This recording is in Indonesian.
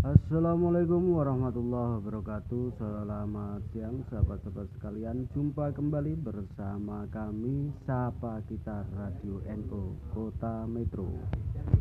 Assalamualaikum warahmatullahi wabarakatuh. Selamat siang sahabat-sahabat sekalian. Jumpa kembali bersama kami Sapa Kita Radio NU Kota Metro.